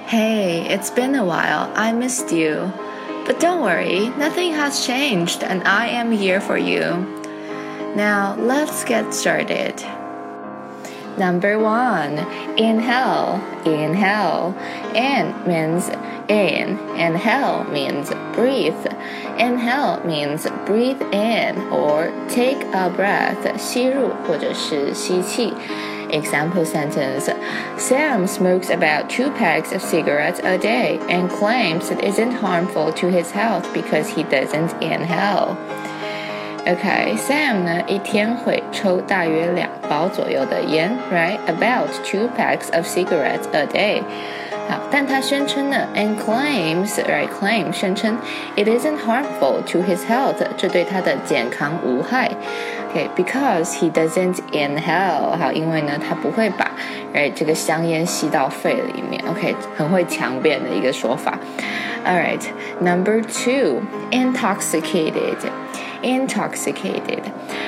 Hey, it's been a while. I missed you. But don't worry, nothing has changed and I am here for you. Now, let's get started. Number 1, inhale, inhale. In means in, and hell means breathe. Inhale means breathe in or take a breath, 吸入或者是吸气。Example sentence, Sam smokes about 2 packs of cigarettes a day and claims it isn't harmful to his health because he doesn't inhale. Okay, Sam 呢一天会抽大约2包左右的烟 right? About 2 packs of cigarettes a day. 好，但他宣称呢 and claims, right? Claim 宣称 it isn't harmful to his health, 这对他的健康无害。Okay, because he doesn't inhale. 好，因为呢他不会把 right 这个香烟吸到肺里面。Okay, 很会强辩的一个说法。Alright, number 2, intoxicated. Intoxicated.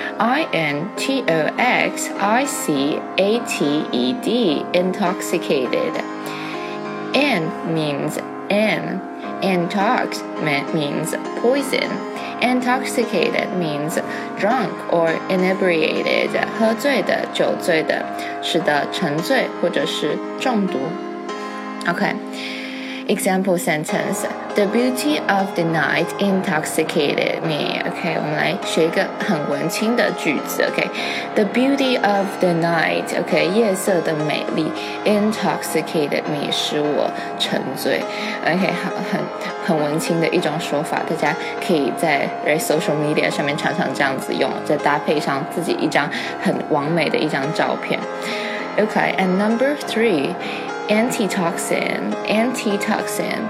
I-N-T-O-X-I-C-A-T-E-D. Intoxicated. In means in. Intox means poison. Intoxicated means drunk or inebriated. 喝醉的、酒醉的，使得沉醉或者是中毒。Okay.Example sentence, The beauty of the night intoxicated me. Okay, 我们来学一个很文青的句子。Okay, The beauty of the night. Okay, 夜色的美丽 intoxicated me 使我沉醉。Okay, 很文青的一种说法，大家可以在 social media 上面常常这样子用，再搭配上自己一张很完美的一张照片。Okay, and number 3.Antitoxin, antitoxin,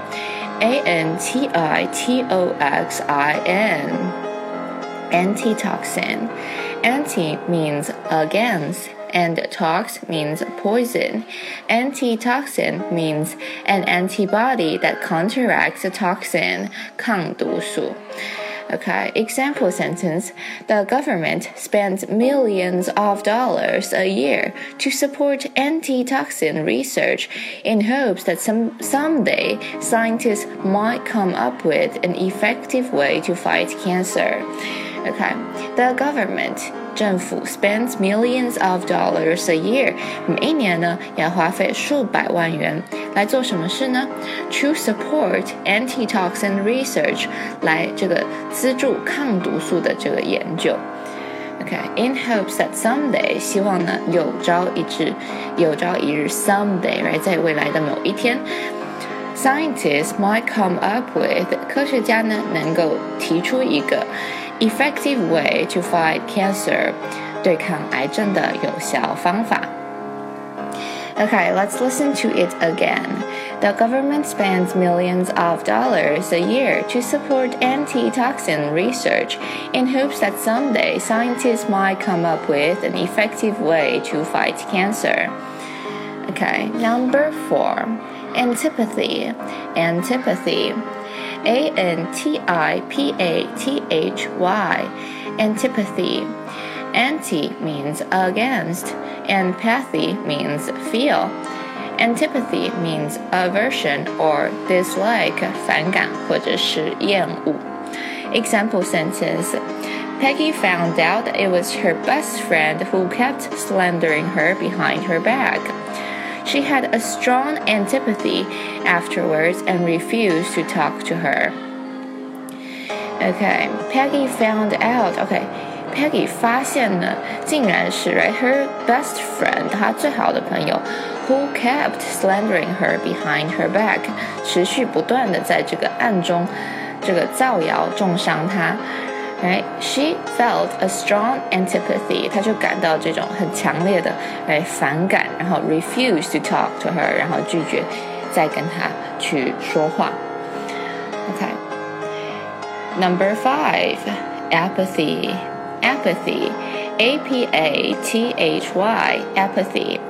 A-N-T-I-T-O-X-I-N, antitoxin. Anti means against, and tox means poison. Antitoxin means an antibody that counteracts a toxin, 抗毒素。Okay, example sentence, The government spends millions of dollars a year to support antitoxin research in hopes that someday scientists might come up with an effective way to fight cancer. Okay, the government, 政府 spends millions of dollars a year. 每一年呢要花费数百万元来做什么事呢 ？To support antitoxin research. 来这个资助抗毒素的这个研究。Okay, in hopes that someday, 希望呢有朝一日 someday, right, 在未来的某一天 ，scientists might come up with 科学家呢能够提出一个effective way to fight cancer, 对抗癌症的有效方法。Okay, let's listen to it again. The government spends millions of dollars a year to support antitoxin research in hopes that someday scientists might come up with an effective way to fight cancer. Okay, number 4, antipathy. Antipathy. A-N-T-I-P-A-T-H-Y. Antipathy. Anti means against, and pathy means feel. Antipathy means aversion or dislike, 反感或者是厌恶。Example sentence, Peggy found out it was her best friend who kept slandering her behind her back. She had a strong antipathy afterwards and refused to talk to her. Okay, Peggy found out. Okay.Peggy 发现呢，竟然是 right, her best friend, 她最好的朋友 who kept slandering her behind her back, 持续不断的在这个暗中这个造谣中伤她。Right? She felt a strong antipathy, 她就感到这种很强烈的反感，然後 refused to talk to her, 然後拒絕再跟她去說話。Okay. Number 5, apathy.Apathy, A-P-A-T-H-Y, apathy.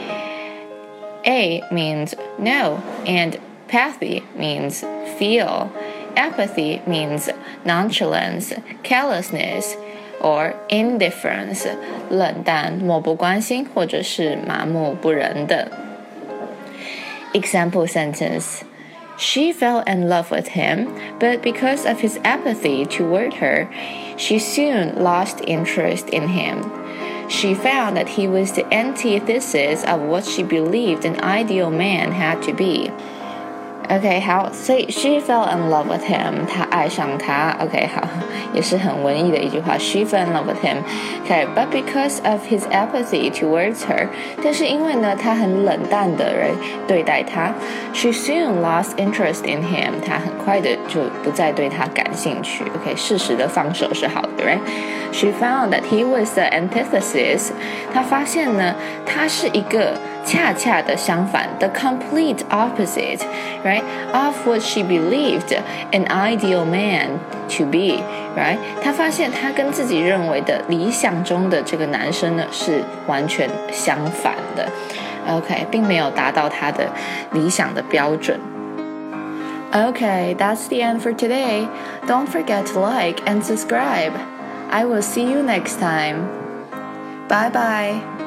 A means no, and pathy means feel. Apathy means nonchalance, carelessness, or indifference, 冷淡、漠不关心，或者是麻木不仁的。 Example sentence. She fell in love with him, but because of his apathy toward her, she soon lost interest in him. She found that he was the antithesis of what she believed an ideal man had to be. OK, 好，所以 she fell in love with him， 她爱上他。OK， 好，也是很文艺的一句话。She fell in love with him. OK, but because of his apathy towards her， 但是因为呢，他很冷淡的人对待他 ，she soon lost interest in him， 她很快的就不再对他感兴趣。OK， 适时的放手是好的 ，right？She found that he was the antithesis， 她发现呢，他是一个恰恰的相反 ，the complete opposite, right, of what she believed an ideal man to be, right? 她发现她跟自己认为的理想中的这个男生呢是完全相反的 ，OK， 并没有达到她的理想的标准。Okay, that's the end for today. Don't forget to like and subscribe. I will see you next time. Bye bye.